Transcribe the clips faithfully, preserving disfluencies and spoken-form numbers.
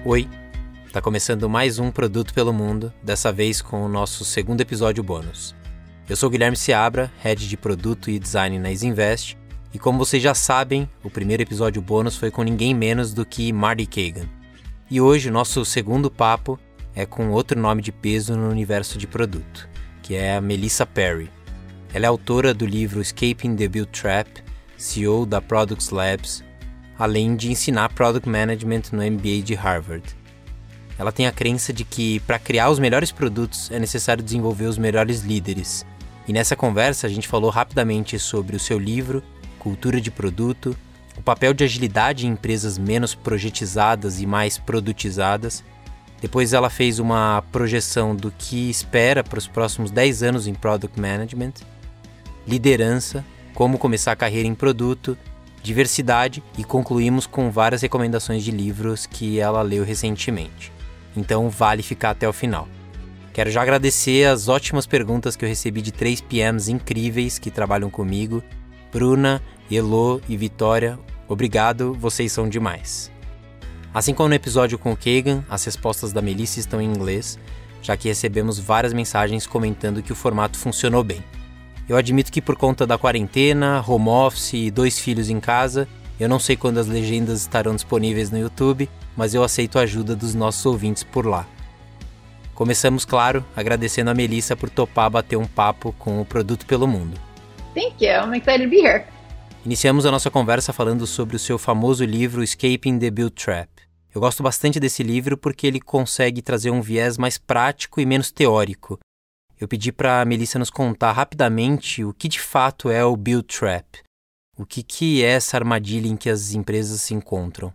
Oi, tá começando mais um Produto pelo Mundo, dessa vez com o nosso segundo episódio bônus. Eu sou o Guilherme Seabra, Head de Produto e Design na Isinvest, e como vocês já sabem, o primeiro episódio bônus foi com ninguém menos do que Marty Cagan. E hoje o nosso segundo papo é com outro nome de peso no universo de produto, que é a Melissa Perry. Ela é autora do livro Escaping the Build Trap, C E O da Products Labs, além de ensinar Product Management no M B A de Harvard. Ela tem a crença de que, para criar os melhores produtos, é necessário desenvolver os melhores líderes. E nessa conversa a gente falou rapidamente sobre o seu livro, Cultura de Produto, o papel de agilidade em empresas menos projetizadas e mais produtizadas. Depois ela fez uma projeção do que espera para os próximos dez anos em Product Management, liderança, como começar a carreira em produto, diversidade e concluímos com várias recomendações de livros que ela leu recentemente. Então vale ficar até o final. Quero já agradecer as ótimas perguntas que eu recebi de três P Ms incríveis que trabalham comigo, Bruna, Elo e Vitória. Obrigado, vocês são demais. Assim como no episódio com o Kagan, as respostas da Melissa estão em inglês, já que recebemos várias mensagens comentando que o formato funcionou bem. Eu admito que por conta da quarentena, home office e dois filhos em casa, eu não sei quando as legendas estarão disponíveis no YouTube, mas eu aceito a ajuda dos nossos ouvintes por lá. Começamos, claro, agradecendo a Melissa por topar bater um papo com o Produto pelo Mundo. Thank you, I'm excited to be here. Iniciamos a nossa conversa falando sobre o seu famoso livro Escaping the Build Trap. Eu gosto bastante desse livro porque ele consegue trazer um viés mais prático e menos teórico. Eu pedi para a Melissa nos contar rapidamente o que de fato é o Build Trap. O que, que é essa armadilha em que as empresas se encontram?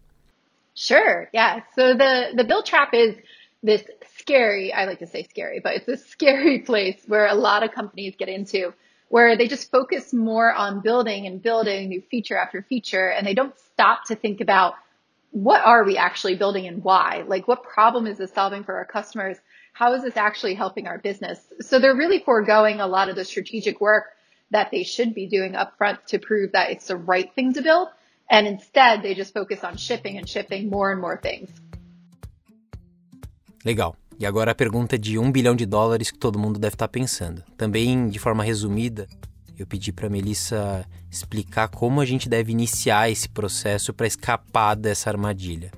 Sure, yeah. So the, the Build Trap is this scary, I like to say scary, but it's this scary place where a lot of companies get into, where they just focus more on building and building new feature after feature, and they don't stop to think about what are we actually building and why? Like, what problem is this solving for our customers? How is this actually helping our business? So they're really foregoing a lot of the strategic work that they should be doing upfront to prove that it's the right thing to build. And instead, they just focus on shipping and shipping more and more things. Legal. E agora a pergunta de um bilhão de dólares que todo mundo deve estar pensando. Também, de forma resumida, eu pedi para a Melissa explicar como a gente deve iniciar esse processo para escapar dessa armadilha.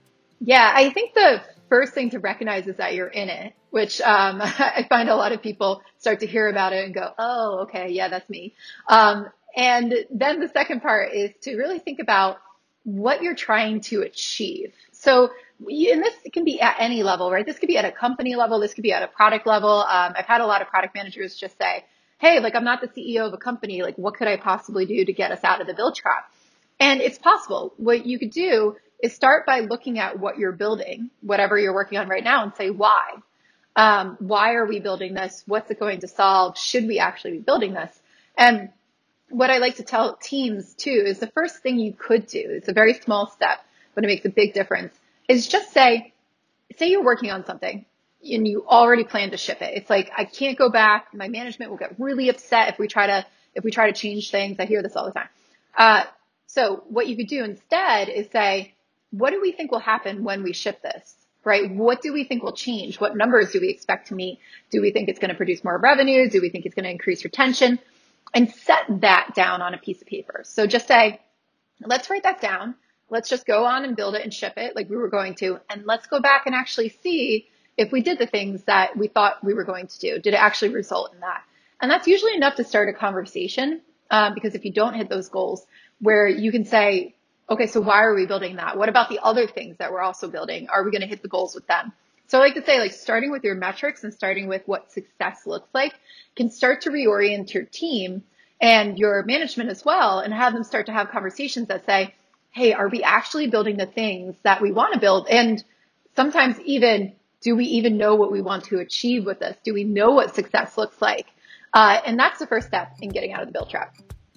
Yeah, I think the first thing to recognize is that you're in it, which um, I find a lot of people start to hear about it and go, oh, okay, yeah, that's me. Um, and then the second part is to really think about what you're trying to achieve. So, and this can be at any level, right? This could be at a company level. This could be at a product level. Um, I've had a lot of product managers just say, hey, like, I'm not the C E O of a company. Like, what could I possibly do to get us out of the build trap? And it's possible. What you could do is start by looking at what you're building, whatever you're working on right now, and say, why? Um, why are we building this? What's it going to solve? Should we actually be building this? And what I like to tell teams too is the first thing you could do, it's a very small step, but it makes a big difference, is just say, say you're working on something and you already plan to ship it. It's like, I can't go back. My management will get really upset if we try to, if we try to change things. I hear this all the time. Uh, so what you could do instead is say, what do we think will happen when we ship this, right? What do we think will change? What numbers do we expect to meet? Do we think it's going to produce more revenue? Do we think it's going to increase retention? And set that down on a piece of paper. So just say, let's write that down. Let's just go on and build it and ship it like we were going to. And let's go back and actually see if we did the things that we thought we were going to do. Did it actually result in that? And that's usually enough to start a conversation. Um, because if you don't hit those goals, where you can say, okay, so why are we building that? What about the other things that we're also building? Are we going to hit the goals with them? So I like to say, like, starting with your metrics and starting with what success looks like can start to reorient your team and your management as well, and have them start to have conversations that say, hey, are we actually building the things that we want to build? And sometimes even, do we even know what we want to achieve with this? Do we know what success looks like? Uh, and that's the first step in getting out of the build trap.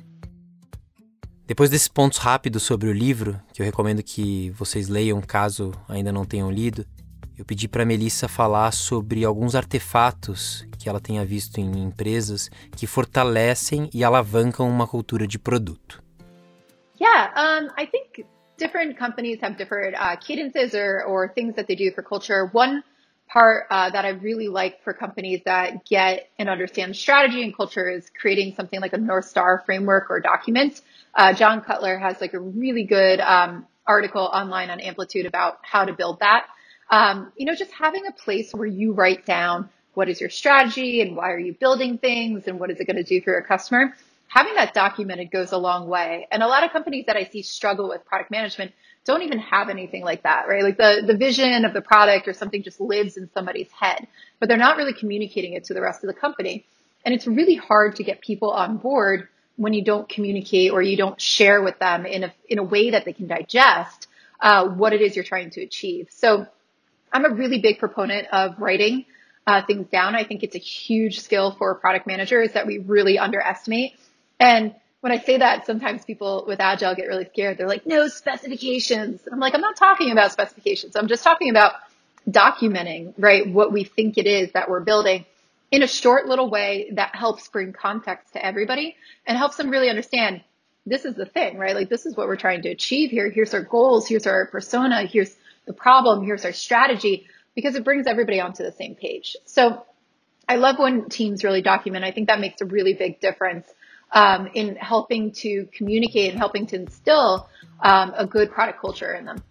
Depois desses pontos rápidos sobre o livro, que eu recomendo que vocês leiam caso ainda não tenham lido, eu pedi para a Melissa falar sobre alguns artefatos que ela tenha visto em empresas que fortalecem e alavancam uma cultura de produto. Yeah, um, I think different companies have different uh, cadences or, or things that they do for culture. One part uh, that I really like for companies that get and understand strategy and culture is creating something like a North Star framework or document. Uh, John Cutler has like a really good um, article online on Amplitude about how to build that. Um, you know, just having a place where you write down what is your strategy and why are you building things and what is it going to do for your customer. Having that documented goes a long way. And a lot of companies that I see struggle with product management don't even have anything like that, right? Like the, the vision of the product or something just lives in somebody's head, but they're not really communicating it to the rest of the company. And it's really hard to get people on board when you don't communicate or you don't share with them in a, in a way that they can digest uh, what it is you're trying to achieve. So I'm a really big proponent of writing uh, things down. I think it's a huge skill for product managers that we really underestimate. And when I say that, sometimes people with Agile get really scared. They're like, no specifications. I'm like, I'm not talking about specifications. I'm just talking about documenting, right, what we think it is that we're building in a short little way that helps bring context to everybody and helps them really understand this is the thing, right? Like, this is what we're trying to achieve here. Here's our goals. Here's our persona. Here's the problem. Here's our strategy, because it brings everybody onto the same page. So I love when teams really document. I think that makes a really big difference Um, in helping to communicate and helping to instill um, a good product culture in them.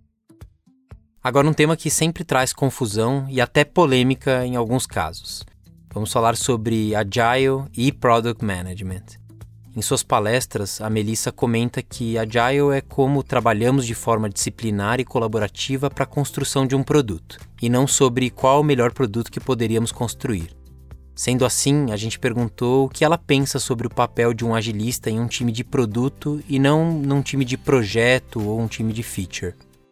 Agora, um tema que sempre traz confusão e até polêmica em alguns casos. Vamos falar sobre Agile e Product Management. Em suas palestras, a Melissa comenta que Agile é como trabalhamos de forma disciplinar e colaborativa para a construção de um produto, e não sobre qual o melhor produto que poderíamos construir. Sendo assim, a gente perguntou o que ela pensa sobre o papel de um agilista em um time de produto e não num time de projeto ou um time de feature.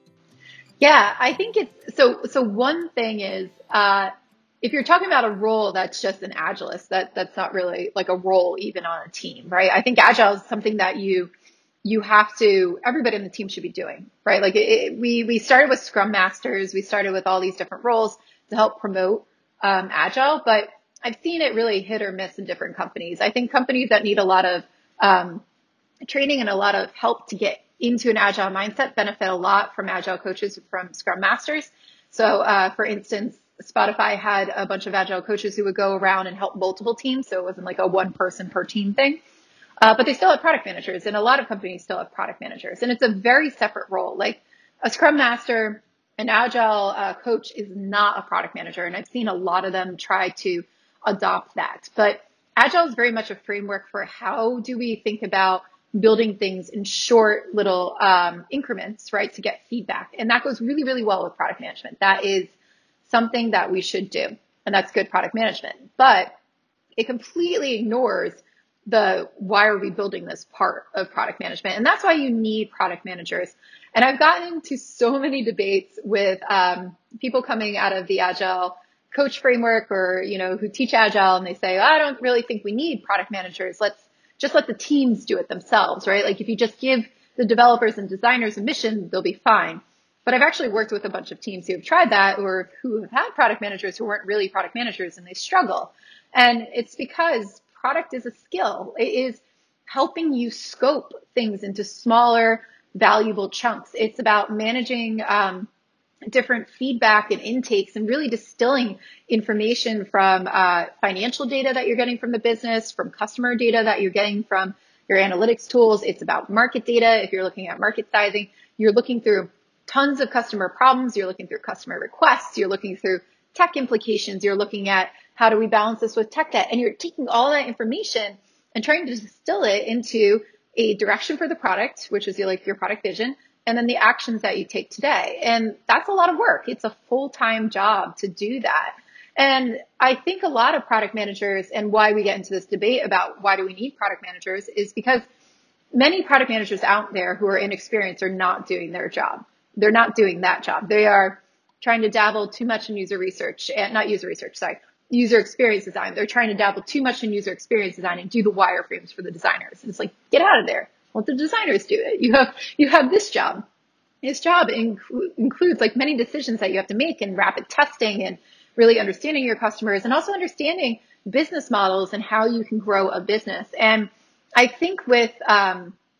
Yeah, I think it's so. So one thing is, uh, if you're talking about a role that's just an agilist, that that's not really like a role even on a team, right? I think agile is something that you you have to. Everybody in the team should be doing, right? Like it, it, we we started with Scrum Masters, we started with all these different roles to help promote um, agile, but I've seen it really hit or miss in different companies. I think companies that need a lot of um, training and a lot of help to get into an agile mindset benefit a lot from agile coaches, from Scrum Masters. So, uh, for instance, Spotify had a bunch of agile coaches who would go around and help multiple teams. So it wasn't like a one person per team thing. Uh, but they still have product managers, and a lot of companies still have product managers. And it's a very separate role. Like a Scrum Master, an agile uh, coach is not a product manager. And I've seen a lot of them try to adopt that. But Agile is very much a framework for how do we think about building things in short little um, increments, right, to get feedback. And that goes really, really well with product management. That is something that we should do. And that's good product management. But it completely ignores the why are we building this part of product management. And that's why you need product managers. And I've gotten into so many debates with um, people coming out of the Agile coach framework or, you know, who teach Agile, and they say, oh, I don't really think we need product managers. Let's just let the teams do it themselves, right? Like if you just give the developers and designers a mission, they'll be fine. But I've actually worked with a bunch of teams who have tried that or who have had product managers who weren't really product managers, and they struggle. And it's because product is a skill. It is helping you scope things into smaller, valuable chunks. It's about managing um, different feedback and intakes and really distilling information from uh, financial data that you're getting from the business, from customer data that you're getting from your analytics tools. It's about market data. If you're looking at market sizing, you're looking through tons of customer problems. You're looking through customer requests. You're looking through tech implications. You're looking at how do we balance this with tech debt? And you're taking all that information and trying to distill it into a direction for the product, which is your, like your product vision, and then the actions that you take today. And that's a lot of work. It's a full-time job to do that. And I think a lot of product managers, and why we get into this debate about why do we need product managers, is because many product managers out there who are inexperienced are not doing their job. They're not doing that job. They are trying to dabble too much in user research, and not user research, sorry, user experience design. They're trying to dabble too much in user experience design and do the wireframes for the designers. And it's like, get out of there. Let the designers do it. You have, you have this job. This job inc- includes like many decisions that you have to make and rapid testing and really understanding your customers and also understanding business models and how you can grow a business. And I think with, um,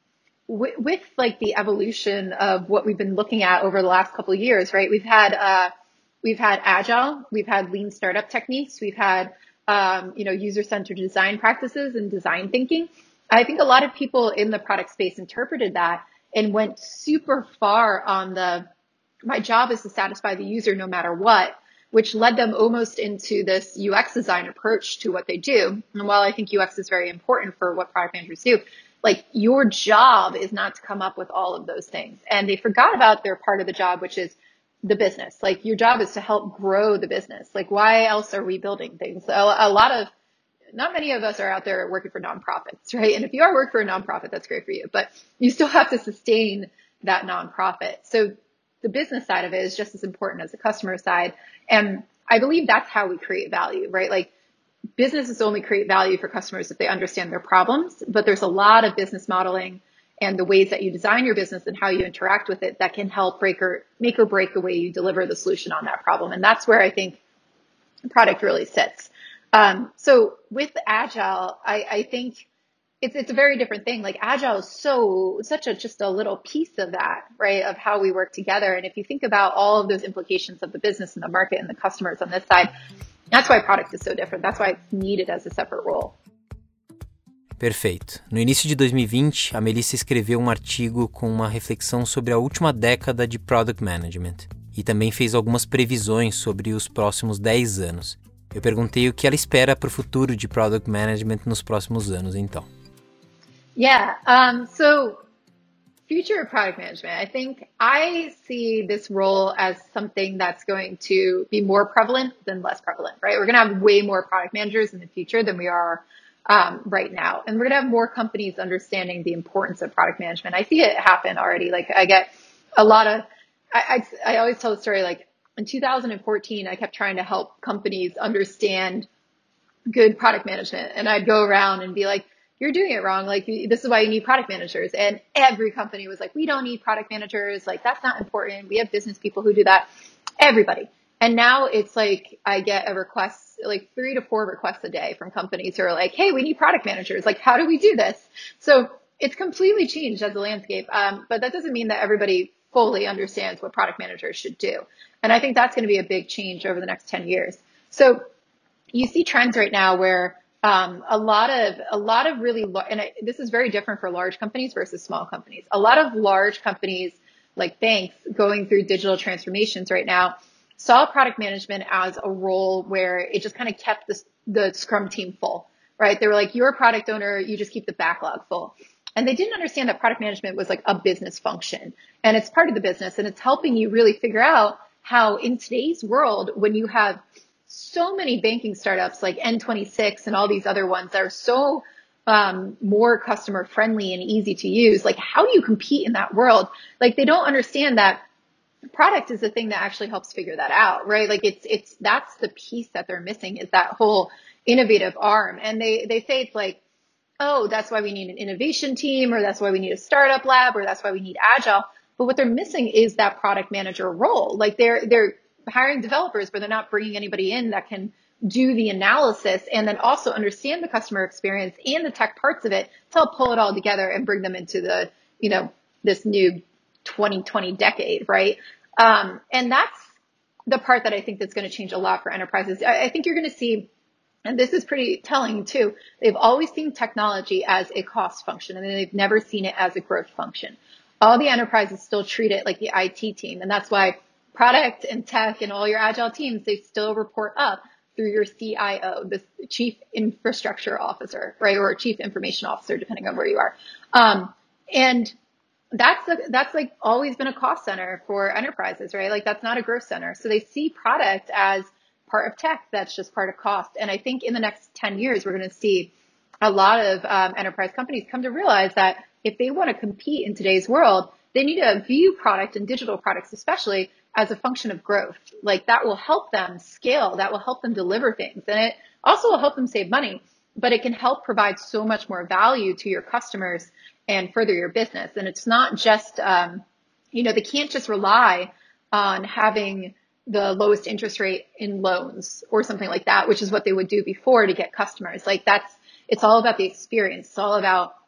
with, with like the evolution of what we've been looking at over the last couple of years, right? We've had, uh, we've had agile, we've had lean startup techniques, we've had, um, you know, user-centered design practices and design thinking. I think a lot of people in the product space interpreted that and went super far on the, my job is to satisfy the user no matter what, which led them almost into this U X design approach to what they do. And while I think U X is very important for what product managers do, like your job is not to come up with all of those things. And they forgot about their part of the job, which is the business. Like your job is to help grow the business. Like why else are we building things? A, a lot of, not many of us are out there working for nonprofits, right? And if you are working for a nonprofit, that's great for you, but you still have to sustain that nonprofit. So the business side of it is just as important as the customer side. And I believe that's how we create value, right? Like businesses only create value for customers if they understand their problems, but there's a lot of business modeling and the ways that you design your business and how you interact with it that can help break or make or break the way you deliver the solution on that problem. And that's where I think product really sits. Um, so with Agile, I, I think it's, it's a very different thing. Like Agile is so, such a, just a little piece of that, right? Of how we work together. And if you think about all of those implications of the business and the market and the customers on this side, that's why product is so different. That's why it's needed as a separate role. Perfeito. No início de dois mil e vinte, a Melissa escreveu um artigo com uma reflexão sobre a última década de Product Management e também fez algumas previsões sobre os próximos dez anos. Eu perguntei o que ela espera para o futuro de Product Management nos próximos anos, então. Yeah, um, so future of product management, I think I see this role as something that's going to be more prevalent than less prevalent, right? We're going to have way more product managers in the future than we are um, right now. And we're going to have more companies understanding the importance of product management. I see it happen already. Like I get a lot of, I, I, I always tell the story, like in two thousand fourteen, I kept trying to help companies understand good product management. And I'd go around and be like, you're doing it wrong. Like, this is why you need product managers. And every company was like, we don't need product managers. Like, that's not important. We have business people who do that. Everybody. And now it's like, I get a request, like three to four requests a day from companies who are like, hey, we need product managers. Like, how do we do this? So it's completely changed as a landscape. Um, but that doesn't mean that everybody fully understands what product managers should do. And I think that's going to be a big change over the next ten years. So you see trends right now where Um, a lot of, a lot of really, and I, this is very different for large companies versus small companies. A lot of large companies like banks going through digital transformations right now saw product management as a role where it just kind of kept the, the Scrum team full, right? They were like, you're a product owner, you just keep the backlog full. And they didn't understand that product management was like a business function and it's part of the business and it's helping you really figure out how in today's world, when you have so many banking startups like N twenty-six and all these other ones that are so um, more customer friendly and easy to use. Like, how do you compete in that world? Like, they don't understand that product is the thing that actually helps figure that out, right? Like, it's it's that's the piece that they're missing is that whole innovative arm. And they they say it's like, oh, that's why we need an innovation team, or that's why we need a startup lab, or that's why we need agile. But what they're missing is that product manager role. Like, they're they're hiring developers, but they're not bringing anybody in that can do the analysis and then also understand the customer experience and the tech parts of it to help pull it all together and bring them into the, you know, this new twenty twenty decade, right? Um, and that's the part that I think that's going to change a lot for enterprises. I, I think you're going to see, and this is pretty telling too, they've always seen technology as a cost function, and they've never seen it as a growth function. All the enterprises still treat it like the I T team, and that's why product and tech and all your agile teams, they still report up through your C I O, the chief infrastructure officer, right? Or chief information officer, depending on where you are. Um, and that's, a, that's like always been a cost center for enterprises, right? Like that's not a growth center. So they see product as part of tech. That's just part of cost. And I think in the next ten years, we're going to see a lot of um, enterprise companies come to realize that if they want to compete in today's world, they need to view product and digital products, especially as a function of growth. Like that will help them scale, that will help them deliver things. And it also will help them save money, but it can help provide so much more value to your customers and further your business. And it's not just, um, you know, they can't just rely on having the lowest interest rate in loans or something like that, which is what they would do before to get customers. Like that's, it's all about the experience. It's all about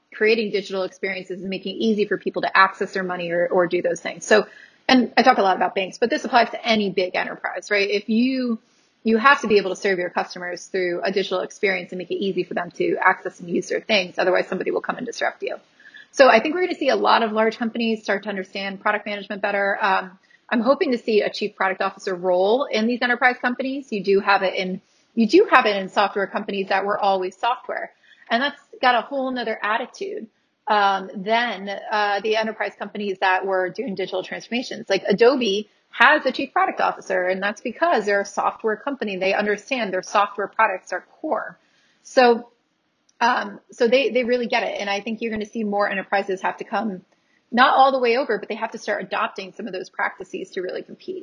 creating digital experiences and making it easy for people to access their money or, or do those things. So, and I talk a lot about banks, but this applies to any big enterprise, right? If you, you have to be able to serve your customers through a digital experience and make it easy for them to access and use their things. Otherwise, somebody will come and disrupt you. So I think we're going to see a lot of large companies start to understand product management better. Um, I'm hoping to see a chief product officer role in these enterprise companies. You do have it in, you do have it in software companies that were always software. And that's got a whole nother attitude um, than uh, the enterprise companies that were doing digital transformations. Like Adobe has a chief product officer, and that's because they're a software company. They understand their software products are core. So um, so they, they really get it. And I think you're going to see more enterprises have to come not all the way over, but they have to start adopting some of those practices to really compete.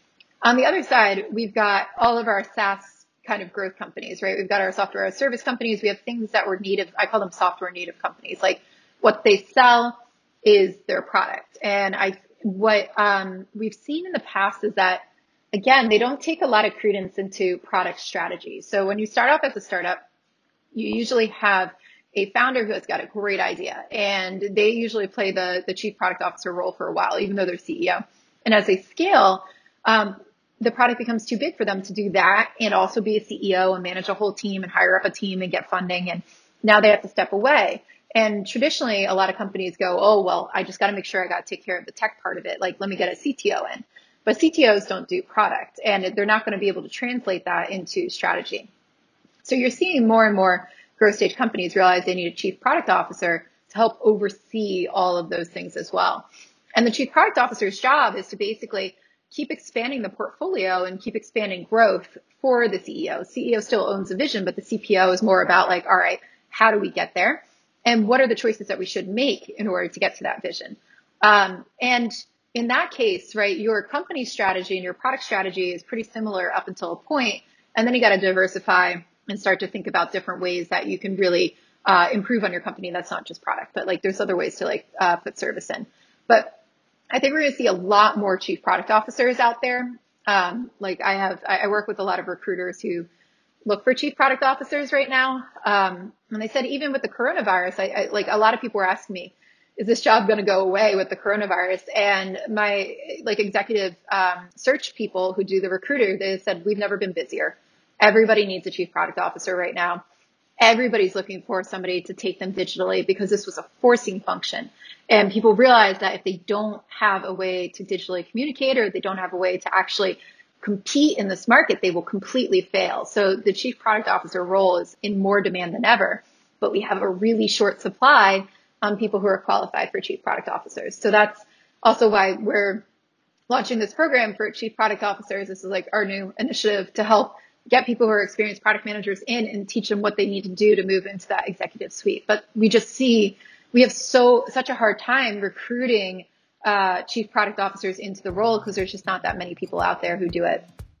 On the other side, we've got all of our SaaS kind of growth companies, right? We've got our software as a service companies. We have things that were native. I call them software native companies. Like what they sell is their product. And I, what um, we've seen in the past is that, again, they don't take a lot of credence into product strategy. So when you start off as a startup, you usually have a founder who has got a great idea, and they usually play the, the chief product officer role for a while, even though they're C E O. And as they scale, um, the product becomes too big for them to do that and also be a C E O and manage a whole team and hire up a team and get funding. And now they have to step away. And traditionally, a lot of companies go, oh, well, I just got to make sure I got to take care of the tech part of it. Like, let me get a C T O in. But C T Os don't do product, and they're not going to be able to translate that into strategy. So you're seeing more and more growth stage companies realize they need a chief product officer to help oversee all of those things as well. And the chief product officer's job is to basically keep expanding the portfolio and keep expanding growth for the C E O. C E O still owns the vision, but the C P O is more about like, all right, how do we get there? And what are the choices that we should make in order to get to that vision? Um, and in that case, right, your company strategy and your product strategy is pretty similar up until a point, and then you got to diversify and start to think about different ways that you can really uh, improve on your company. That's not just product, but like there's other ways to like uh, put service in. But I think we're going to see a lot more chief product officers out there. Um, like I have, I, I work with a lot of recruiters who look for chief product officers right now. Um, and they said even with the coronavirus, I, I like a lot of people were asking me, is this job going to go away with the coronavirus? And my like executive um, search people who do the recruiter, they said, we've never been busier. Everybody needs a chief product officer right now. Everybody's looking for somebody to take them digitally because this was a forcing function. And people realize that if they don't have a way to digitally communicate or they don't have a way to actually compete in this market, they will completely fail. So the chief product officer role is in more demand than ever, but we have a really short supply on people who are qualified for chief product officers. So that's also why we're launching this program for chief product officers. This is like our new initiative to help get people who are experienced product managers in and teach them what they need to do to move into that executive suite. But we just see we have so such a hard time recruiting uh, chief product officers into the role because there's just not that many people out there who do it.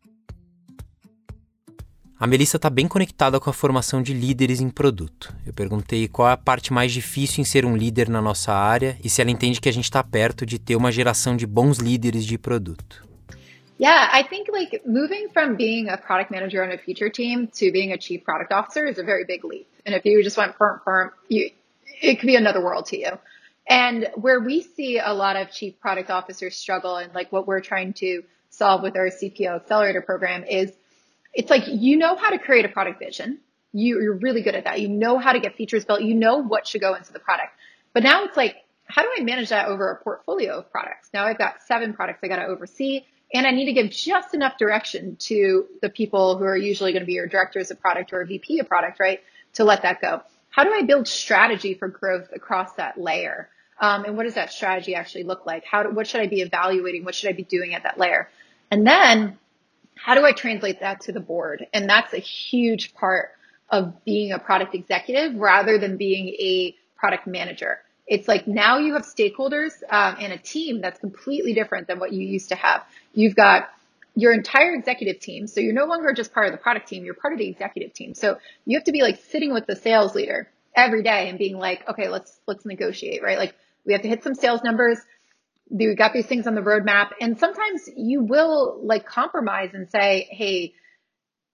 A Melissa está bem conectada com a formação de líderes em produto. Eu perguntei qual é a parte mais difícil em ser um líder na nossa área e se ela entende que a gente está perto de ter uma geração de bons líderes de produto. Yeah, I think like moving from being a product manager on a feature team to being a chief product officer is a very big leap. And if you just went firm, firm, you, it could be another world to you. And where we see a lot of chief product officers struggle and like what we're trying to solve with our C P O accelerator program is it's like, you know how to create a product vision. You, you're really good at that. You know how to get features built. You know what should go into the product. But now it's like, how do I manage that over a portfolio of products? Now I've got seven products I got to oversee. And I need to give just enough direction to the people who are usually going to be your directors of product or a V P of product, right, to let that go. How do I build strategy for growth across that layer? Um, and what does that strategy actually look like? How do, what should I be evaluating? What should I be doing at that layer? And then how do I translate that to the board? And that's a huge part of being a product executive rather than being a product manager. It's like now you have stakeholders um, and a team that's completely different than what you used to have. You've got your entire executive team. So you're no longer just part of the product team. You're part of the executive team. So you have to be like sitting with the sales leader every day and being like, okay, let's, let's negotiate, right? Like we have to hit some sales numbers. We got these things on the roadmap. And sometimes you will like compromise and say, hey,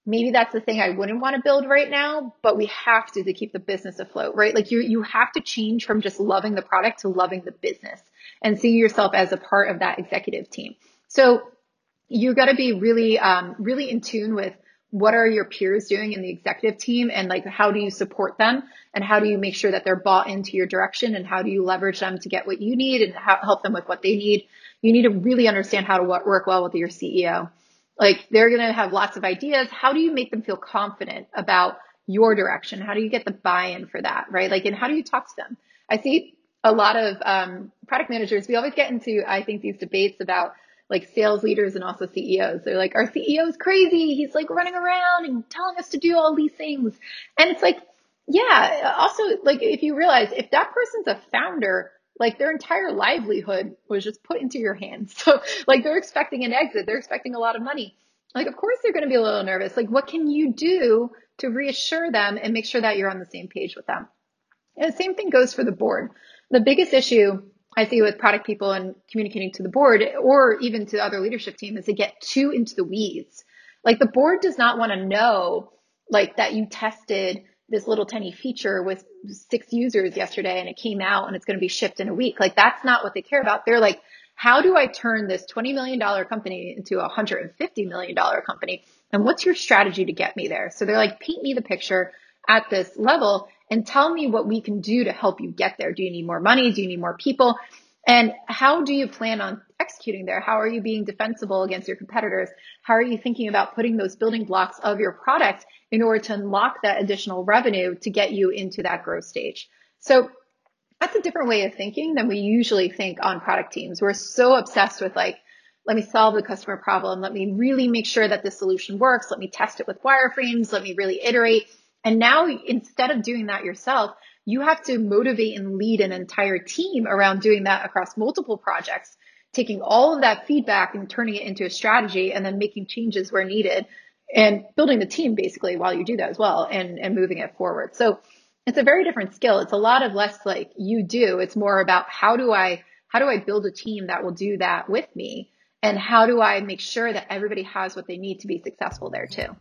maybe that's the thing I wouldn't want to build right now, but we have to to keep the business afloat, right? Like you you have to change from just loving the product to loving the business and see yourself as a part of that executive team. So you got to be really, um, really in tune with what are your peers doing in the executive team and like how do you support them and how do you make sure that they're bought into your direction and how do you leverage them to get what you need and how, help them with what they need. You need to really understand how to work well with your C E O. Like they're going to have lots of ideas. How do you make them feel confident about your direction? How do you get the buy-in for that, right? Like, and how do you talk to them? I see a lot of um, product managers. We always get into, I think, these debates about like sales leaders and also C E Os. They're like, our C E O is crazy. He's like running around and telling us to do all these things. And it's like, yeah, also like if you realize if that person's a founder, like their entire livelihood was just put into your hands. So like they're expecting an exit. They're expecting a lot of money. Like, of course they're going to be a little nervous. Like, what can you do to reassure them and make sure that you're on the same page with them? And the same thing goes for the board. The biggest issue I see with product people and communicating to the board or even to other leadership team is to get too into the weeds. Like the board does not want to know like that you tested this little tiny feature with six users yesterday and it came out and it's going to be shipped in a week. Like that's not what they care about. They're like, how do I turn this twenty million dollars company into a one hundred fifty million dollars company? And what's your strategy to get me there? So they're like, paint me the picture at this level and tell me what we can do to help you get there. Do you need more money? Do you need more people? And how do you plan on executing there? How are you being defensible against your competitors? How are you thinking about putting those building blocks of your product in order to unlock that additional revenue to get you into that growth stage? So that's a different way of thinking than we usually think on product teams. We're so obsessed with like, let me solve the customer problem. Let me really make sure that this solution works. Let me test it with wireframes. Let me really iterate. And now instead of doing that yourself, you have to motivate and lead an entire team around doing that across multiple projects, taking all of that feedback and turning it into a strategy and then making changes where needed and building the team basically while you do that as well and, and moving it forward. So it's a very different skill. It's a lot of less like you do. It's more about how do I, how do I build a team that will do that with me? And how do I make sure that everybody has what they need to be successful there too?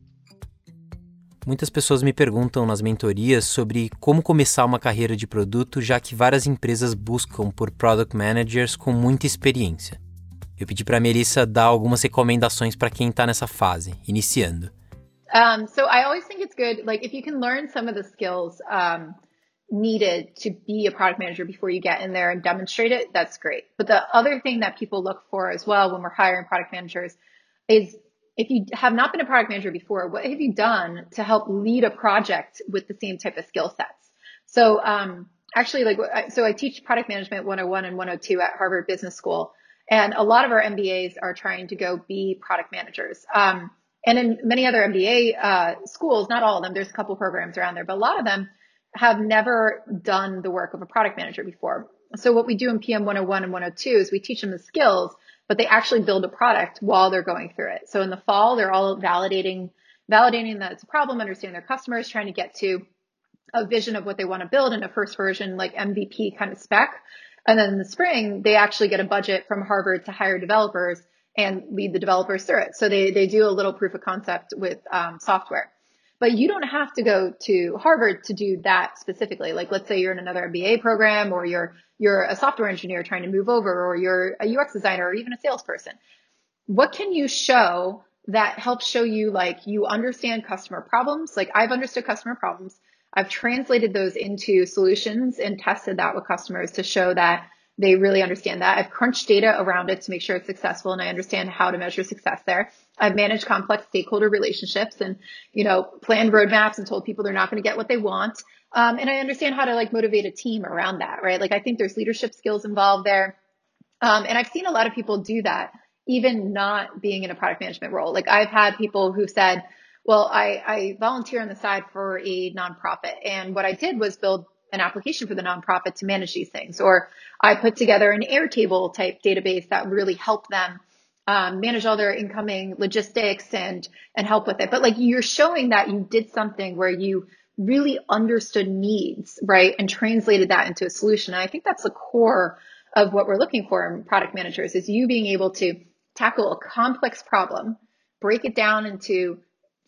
Muitas pessoas me perguntam nas mentorias sobre como começar uma carreira de produto, já que várias empresas buscam por product managers com muita experiência. Eu pedi para a Melissa dar algumas recomendações para quem está nessa fase, iniciando. Um, so I always think it's good, like if you can learn some of the skills um, needed to be a product manager before you get in there and demonstrate it, that's great. But the other thing that people look for as well when we're hiring product managers is if you have not been a product manager before, what have you done to help lead a project with the same type of skill sets? So um, actually, like, so I teach product management one oh one and one oh two at Harvard Business School. And a lot of our M B As are trying to go be product managers. Um, and in many other M B A uh, schools, not all of them, there's a couple programs around there, but a lot of them have never done the work of a product manager before. So what we do in P M one oh one and one oh two is we teach them the skills, but they actually build a product while they're going through it. So in the fall, they're all validating, validating that it's a problem, understanding their customers, trying to get to a vision of what they want to build in a first version, like M V P kind of spec. And then in the spring, they actually get a budget from Harvard to hire developers and lead the developers through it. So they, they do a little proof of concept with um, software. But you don't have to go to Harvard to do that specifically. Like, let's say you're in another M B A program, or you're you're a software engineer trying to move over, or you're a U X designer, or even a salesperson. What can you show that helps show you like you understand customer problems? Like I've understood customer problems. I've translated those into solutions and tested that with customers to show that they really understand that. I've crunched data around it to make sure it's successful and I understand how to measure success there. I've managed complex stakeholder relationships and, you know, planned roadmaps and told people they're not going to get what they want. Um, and I understand how to like motivate a team around that, right? Like I think there's leadership skills involved there. Um, and I've seen a lot of people do that, even not being in a product management role. Like I've had people who said, well, I, I volunteer on the side for a nonprofit. And what I did was build an application for the nonprofit to manage these things. Or I put together an Airtable type database that really helped them um, manage all their incoming logistics and, and help with it. But like you're showing that you did something where you really understood needs, right? And translated that into a solution. And I think that's the core of what we're looking for in product managers is you being able to tackle a complex problem, break it down into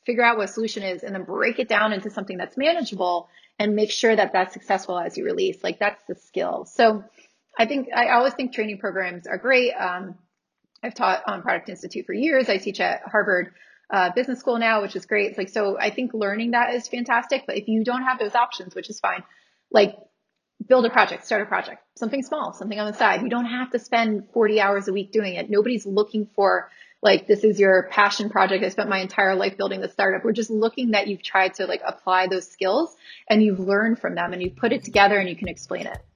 figure out what a solution is and then break it down into something that's manageable and make sure that that's successful as you release. Like that's the skill. So I think, I always think training programs are great. Um, I've taught on Product Institute for years. I teach at Harvard uh, Business School now, which is great. It's like, so I think learning that is fantastic, but if you don't have those options, which is fine, like build a project, start a project, something small, something on the side. You don't have to spend forty hours a week doing it. Nobody's looking for like, this is your passion project. I spent my entire life building the startup. We're just looking that you've tried to like apply those skills and you've learned from them and you've put it together and you can explain it.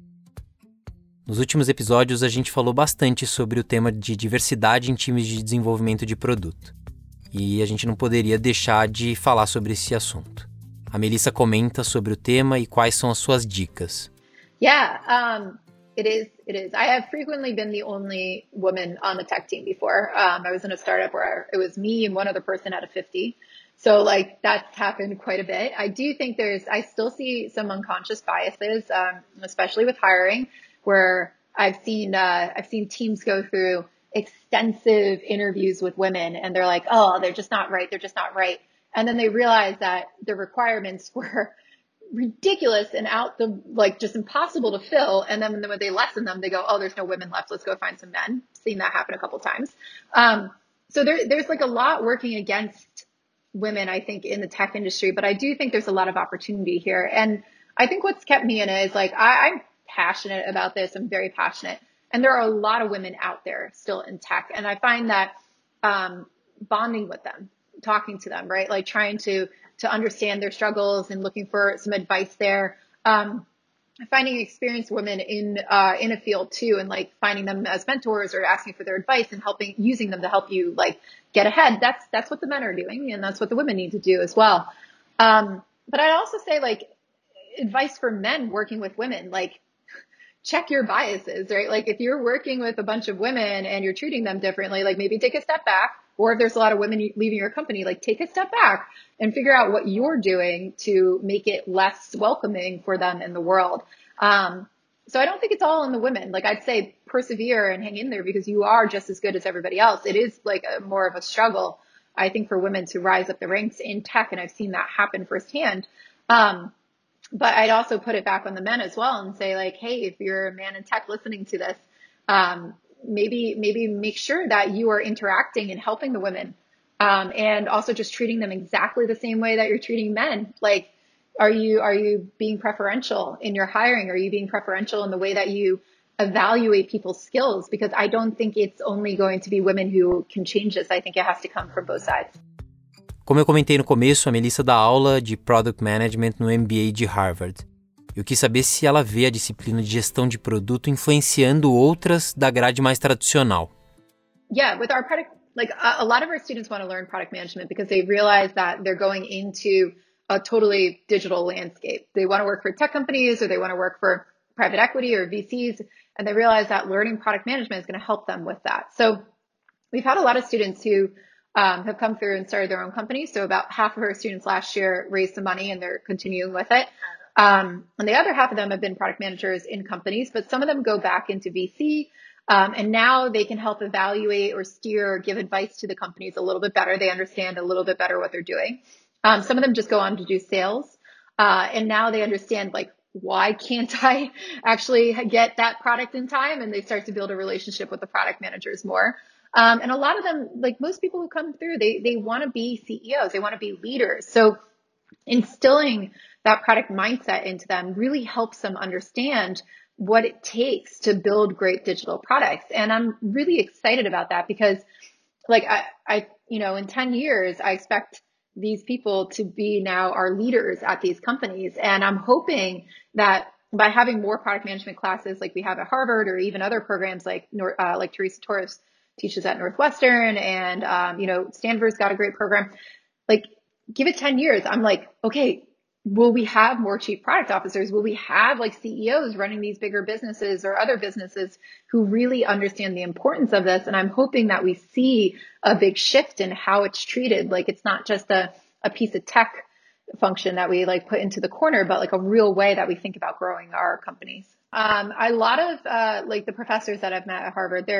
Nos últimos episódios, a gente falou bastante sobre o tema de diversidade em times de desenvolvimento de produto. E a gente não poderia deixar de falar sobre esse assunto. A Melissa comenta sobre o tema e quais são as suas dicas. Yeah, um, it is. It is. I have frequently been the only woman on the tech team before. Um, I was in a startup where it was me and one other person out of fifty. So like that's happened quite a bit. I do think there's, I still see some unconscious biases, um, especially with hiring, where I've seen, uh, I've seen teams go through extensive interviews with women and they're like, oh, they're just not right. They're just not right. And then they realize that the requirements were ridiculous and out the, like just impossible to fill. And then when they lessen them, they go, oh, there's no women left. Let's go find some men. Seen that happen a couple times. Um, so there, there's like a lot working against women, I think, in the tech industry, but I do think there's a lot of opportunity here. And I think what's kept me in it is like, I, I'm passionate about this. I'm very passionate. And there are a lot of women out there still in tech. And I find that, um, bonding with them, talking to them, right? Like trying to, to understand their struggles and looking for some advice there. Um, finding experienced women in, uh, in a field too, and like finding them as mentors or asking for their advice and helping, using them to help you like get ahead. That's, that's what the men are doing. And that's what the women need to do as well. Um, but I'd also say like advice for men working with women, like check your biases, right? Like if you're working with a bunch of women and you're treating them differently, like maybe take a step back, or if there's a lot of women leaving your company, like take a step back and figure out what you're doing to make it less welcoming for them in the world. Um, so I don't think it's all in the women. Like I'd say persevere and hang in there because you are just as good as everybody else. It is like a, more of a struggle, I think, for women to rise up the ranks in tech. And I've seen that happen firsthand. Um, But I'd also put it back on the men as well and say like, hey, if you're a man in tech listening to this, um, maybe, maybe make sure that you are interacting and helping the women. Um, and also just treating them exactly the same way that you're treating men. Like, are you, are you being preferential in your hiring? Are you being preferential in the way that you evaluate people's skills? Because I don't think it's only going to be women who can change this. I think it has to come from both sides. Como eu comentei no começo, a Melissa dá aula de Product Management no M B A de Harvard. Eu quis saber se ela vê a disciplina de gestão de produto influenciando outras da grade mais tradicional. Yeah, with our product, like a, a lot of our students want to learn product management because they realize that they're going into a totally digital landscape. They want to work for tech companies or they want to work for private equity or V Cs, and they realize that learning product management is going to help them with that. So we've had a lot of students who Um, have come through and started their own companies. So about half of our students last year raised some money and they're continuing with it. Um, and the other half of them have been product managers in companies, but some of them go back into V C. Um, and now they can help evaluate or steer or give advice to the companies a little bit better. They understand a little bit better what they're doing. Um, some of them just go on to do sales. Uh, and now they understand like, why can't I actually get that product in time? And they start to build a relationship with the product managers more. Um, and a lot of them, like most people who come through, they, they want to be C E Os. They want to be leaders. So instilling that product mindset into them really helps them understand what it takes to build great digital products. And I'm really excited about that because like I, I, you know, in ten years, I expect these people to be now our leaders at these companies. And I'm hoping that by having more product management classes like we have at Harvard or even other programs like, uh, like Teresa Torres teaches at Northwestern and, um, you know, Stanford's got a great program. Like give it ten years. I'm like, okay, will we have more chief product officers? Will we have like C E Os running these bigger businesses or other businesses who really understand the importance of this? And I'm hoping that we see a big shift in how it's treated. Like it's not just a, a piece of tech function that we like put into the corner, but like a real way that we think about growing our companies. Um, a lot of, uh, like the professors that I've met at Harvard, they're,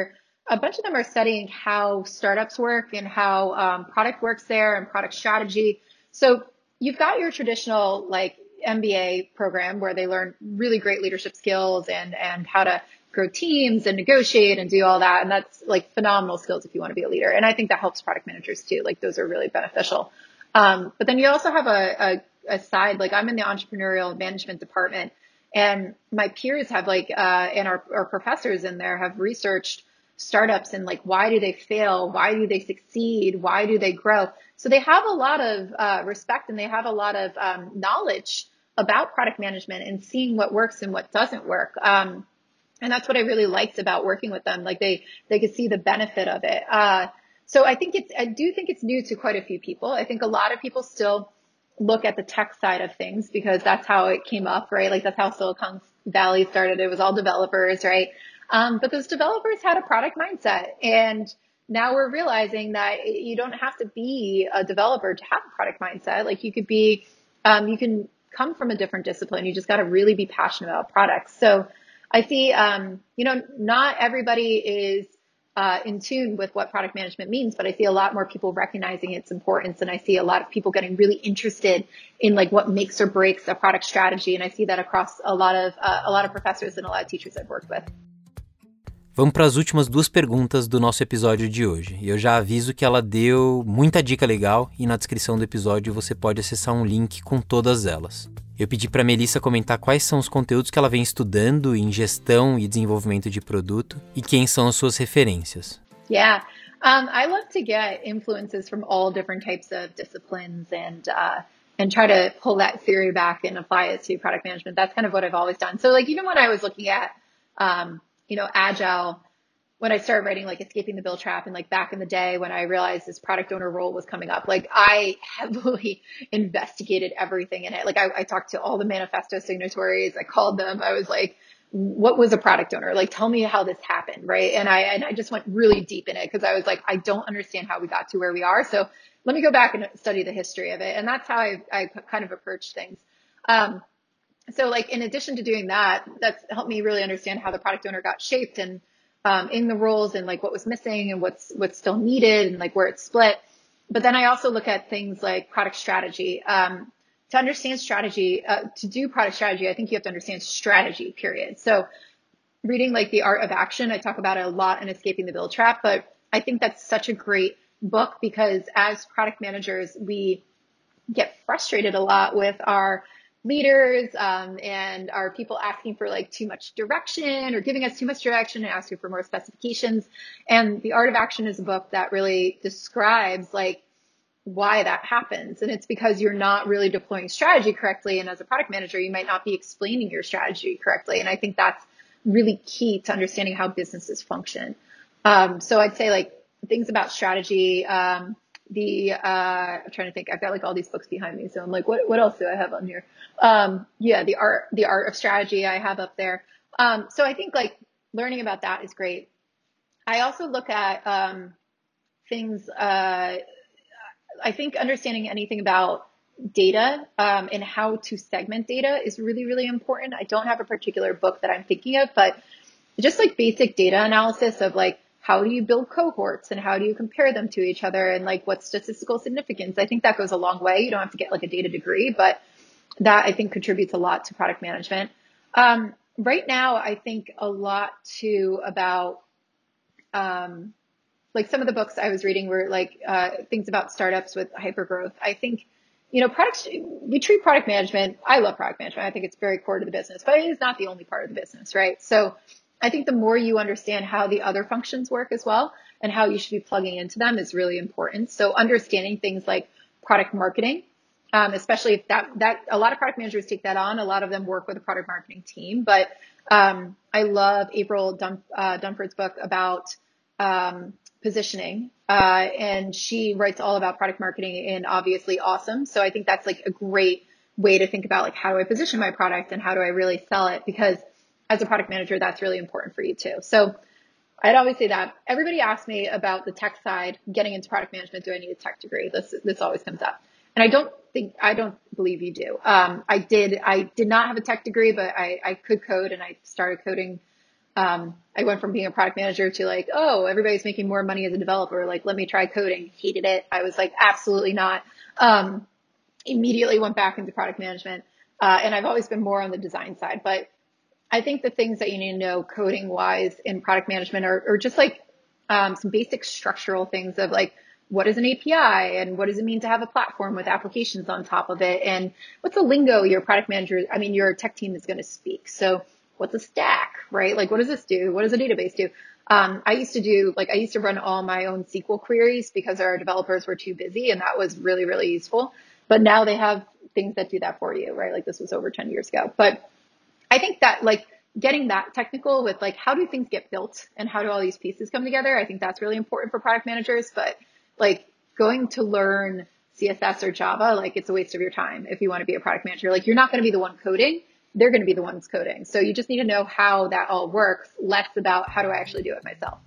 a bunch of them are studying how startups work and how um, product works there and product strategy. So you've got your traditional like M B A program where they learn really great leadership skills and, and how to grow teams and negotiate and do all that. And that's like phenomenal skills if you want to be a leader. And I think that helps product managers too. Like those are really beneficial. Um, but then you also have a, a, a side, like I'm in the entrepreneurial management department, and my peers have like, uh, and our, our professors in there have researched startups and like, why do they fail? Why do they succeed? Why do they grow? So they have a lot of uh, respect and they have a lot of um, knowledge about product management and seeing what works and what doesn't work. Um, and that's what I really liked about working with them. Like they, they could see the benefit of it. Uh, so I think it's, I do think it's new to quite a few people. I think a lot of people still look at the tech side of things because that's how it came up, right? Like that's how Silicon Valley started. It was all developers, right? Um, but those developers had a product mindset, and now we're realizing that you don't have to be a developer to have a product mindset. Like you could be, um, you can come from a different discipline. You just got to really be passionate about products. So I see, um, you know, not everybody is uh, in tune with what product management means, but I see a lot more people recognizing its importance. And I see a lot of people getting really interested in like what makes or breaks a product strategy. And I see that across a lot of, uh, a lot of professors and a lot of teachers I've worked with. Vamos para as últimas duas perguntas do nosso episódio de hoje. E eu já aviso que ela deu muita dica legal e na descrição do episódio você pode acessar um link com todas elas. Eu pedi para a Melissa comentar quais são os conteúdos que ela vem estudando em gestão e desenvolvimento de produto e quem são as suas referências. Yeah, um, I love to get influences from all different types of disciplines and uh, and try to pull that theory back and apply it to product management. That's kind of what I've always done. So like even when I was looking at um, you know, Agile, when I started writing like Escaping the Bill Trap and like back in the day when I realized this product owner role was coming up, like I heavily investigated everything in it. Like I, I talked to all the manifesto signatories. I called them. I was like, what was a product owner? Like, tell me how this happened. Right. And I, and I just went really deep in it because I was like, I don't understand how we got to where we are. So let me go back and study the history of it. And that's how I, I kind of approached things. Um, So like, in addition to doing that, that's helped me really understand how the product owner got shaped and, um, in the roles and like what was missing and what's, what's still needed and like where it's split. But then I also look at things like product strategy. Um, to understand strategy, uh, to do product strategy, I think you have to understand strategy, period. So reading like The Art of Action, I talk about it a lot in Escaping the Bill Trap, but I think that's such a great book because as product managers, we get frustrated a lot with our leaders um, and are people asking for like too much direction or giving us too much direction and asking for more specifications. And The Art of Action is a book that really describes like why that happens. And it's because you're not really deploying strategy correctly. And as a product manager, you might not be explaining your strategy correctly. And I think that's really key to understanding how businesses function. Um, so I'd say like things about strategy, um, the, uh, I'm trying to think, I've got like all these books behind me. So I'm like, what, what else do I have on here? Um, yeah, the art, the art of strategy I have up there. Um, so I think like learning about that is great. I also look at, um, things, uh, I think understanding anything about data, um, and how to segment data is really, really important. I don't have a particular book that I'm thinking of, but just like basic data analysis of like, how do you build cohorts and how do you compare them to each other and like what's statistical significance? I think that goes a long way. You don't have to get like a data degree, but that I think contributes a lot to product management. Um, right now, I think a lot too about, um, like some of the books I was reading were like, uh, things about startups with hypergrowth. I think, you know, products, we treat product management. I love product management. I think it's very core to the business, but it is not the only part of the business, right? So I think the more you understand how the other functions work as well and how you should be plugging into them is really important. So understanding things like product marketing, um, especially if that, that a lot of product managers take that on. A lot of them work with a product marketing team, but, um, I love April Dum, uh, Dunford's book about, um, positioning, uh, and she writes all about product marketing and obviously awesome. So I think that's like a great way to think about like, how do I position my product and how do I really sell it? Because as a product manager, that's really important for you too. So I'd always say that. Everybody asks me about the tech side, getting into product management. Do I need a tech degree? This, this always comes up. And I don't think, I don't believe you do. Um, I did, I did not have a tech degree, but I, I could code and I started coding, Um, I went from being a product manager to like, oh, everybody's making more money as a developer. Like, let me try coding. Hated it. I was like, absolutely not. Um, immediately went back into product management. Uh, and I've always been more on the design side, but I think the things that you need to know coding wise in product management are, are just like, um, some basic structural things of like, what is an A P I and what does it mean to have a platform with applications on top of it? And what's the lingo your product manager, I mean, your tech team is going to speak. So what's a stack, right? Like, what does this do? What does a database do? Um, I used to do, like, I used to run all my own S Q L queries because our developers were too busy, and that was really, really useful. But now they have things that do that for you, right? Like, this was over ten years ago. But I think that, like, getting that technical with, like, how do things get built and how do all these pieces come together? I think that's really important for product managers. But, like, going to learn C S S or Java, like, it's a waste of your time if you want to be a product manager. Like, you're not going to be the one coding. They're going to be the ones coding. So you just need to know how that all works, less about how do I actually do it myself.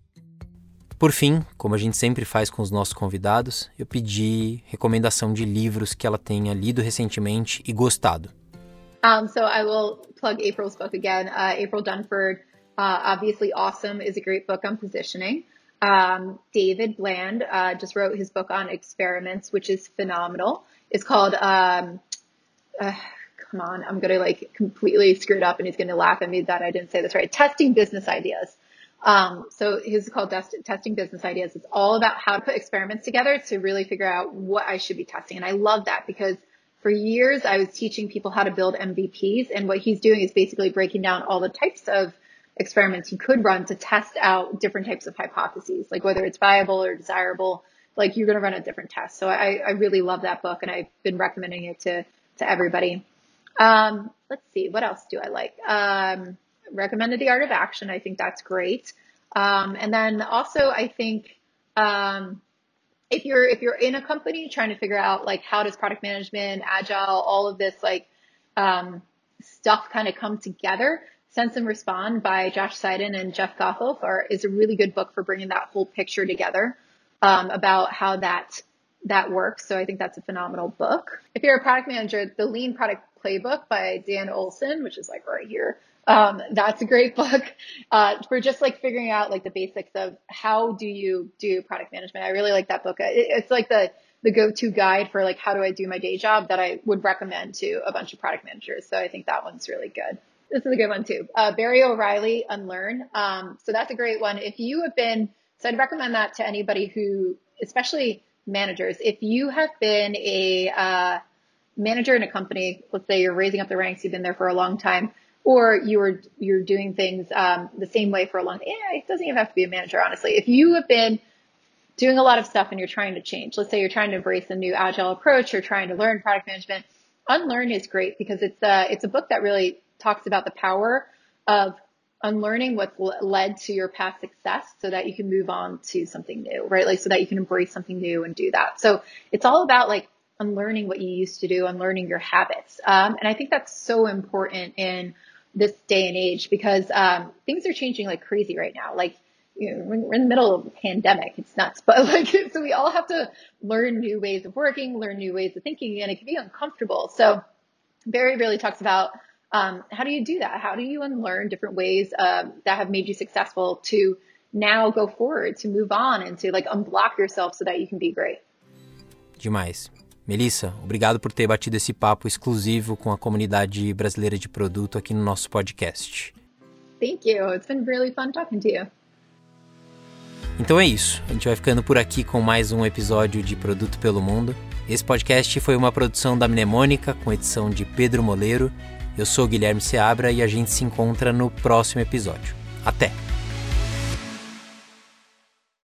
Por fim, como a gente sempre faz com os nossos convidados, eu pedi recomendação de livros que ela tenha lido recentemente e gostado. Um, so I will plug April's book again. Uh, April Dunford, uh, obviously awesome, is a great book on positioning. Um, David Bland uh, just wrote his book on experiments, which is phenomenal. It's called... Um, uh, Come on, I'm going to like completely screw it up and he's going to laugh at me that I didn't say this right. Testing Business Ideas. Um, so his is called Test- Testing Business Ideas. It's all about how to put experiments together to really figure out what I should be testing. And I love that because for years I was teaching people how to build M V Ps. And what he's doing is basically breaking down all the types of experiments you could run to test out different types of hypotheses, like whether it's viable or desirable, like you're going to run a different test. So I, I really love that book and I've been recommending it to, to everybody. Um, let's see, what else do I like? Um, recommended The Art of Action. I think that's great. Um, and then also I think, um, if you're, if you're in a company trying to figure out like, how does product management, agile, all of this, like, um, stuff kind of come together, Sense and Respond by Josh Seiden and Jeff Gothelf are, is a really good book for bringing that whole picture together, um, about how that, that works. So I think that's a phenomenal book. If you're a product manager, the Lean Product Playbook by Dan Olson, which is like right here. Um, that's a great book, uh, for just like figuring out like the basics of how do you do product management. I really like that book. It, it's like the, the go-to guide for like, how do I do my day job that I would recommend to a bunch of product managers. So I think that one's really good. This is a good one too. Uh, Barry O'Reilly, Unlearn. Um, so that's a great one. If you have been, so I'd recommend that to anybody who, especially managers, if you have been a, uh, manager in a company, let's say you're raising up the ranks, you've been there for a long time, or you are, you're doing things, um, the same way for a long time. Yeah, it doesn't even have to be a manager, honestly. If you have been doing a lot of stuff and you're trying to change, let's say you're trying to embrace a new agile approach or trying to learn product management, Unlearn is great because it's a, it's a book that really talks about the power of unlearning what's led to your past success so that you can move on to something new, right? Like, so that you can embrace something new and do that. So it's all about like, unlearning what you used to do, unlearning your habits. Um, and I think that's so important in this day and age because um, things are changing like crazy right now. Like, you know, we're in the middle of a pandemic. It's nuts. But like, so we all have to learn new ways of working, learn new ways of thinking, and it can be uncomfortable. So Barry really talks about um, how do you do that? How do you unlearn different ways um, that have made you successful to now go forward, to move on and to like unblock yourself so that you can be great. Demais. Melissa, obrigado por ter batido esse papo exclusivo com a comunidade brasileira de produto aqui no nosso podcast. Thank you. It's been really fun talking to you. Então é isso. A gente vai ficando por aqui com mais um episódio de Produto pelo Mundo. Esse podcast foi uma produção da Mnemônica com edição de Pedro Moleiro. Eu sou Guilherme Seabra e a gente se encontra no próximo episódio. Até!